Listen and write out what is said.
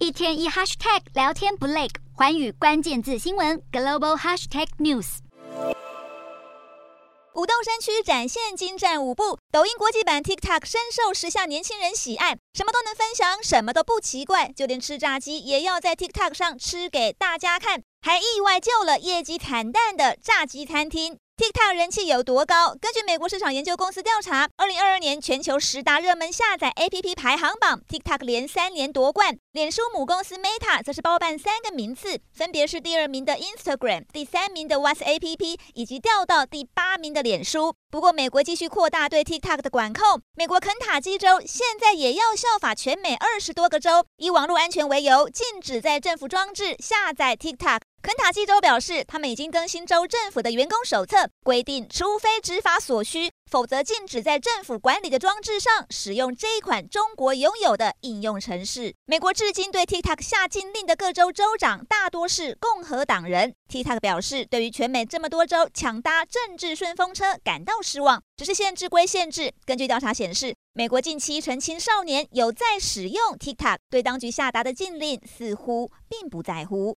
一天一 hashtag 聊天不累，寰宇關鍵字新聞 Global Hashtag News。 舞動身軀展現精湛舞步，抖音國際版 TikTok 深受時下年輕人喜愛，什麼都能分享，什麼都不奇怪，就連吃炸雞也要在 TikTok 上吃給大家看，還意外救了業績慘淡的炸雞餐廳。TikTok 人氣有多高？根據美國市場研究公司調查，2022年全球10大熱門下載 APP 排行榜 ，TikTok 連3年奪冠。臉書母公司 Meta 則是包辦3個名次，分別是第2名的 Instagram、第3名的 WhatsApp 以及掉到第8名的臉書。不過，美國繼續擴大對 TikTok 的管控，美國肯塔基州現在也要效法全美20多個州，以網絡安全為由，禁止在政府裝置下載 TikTok。肯塔基州表示，他們已經更新州政府的員工手冊，規定除非執法所需，否則禁止在政府管理的裝置上使用這一款中國擁有的應用程式。美國至今對 TikTok 下禁令的各州州長大多是共和黨人。TikTok 表示，對於全美這麼多州搶搭政治順風車感到失望，只是限制歸限制。根據調查顯示，美國近7成青少年有在使用 TikTok， 對當局下達的禁令似乎並不在乎。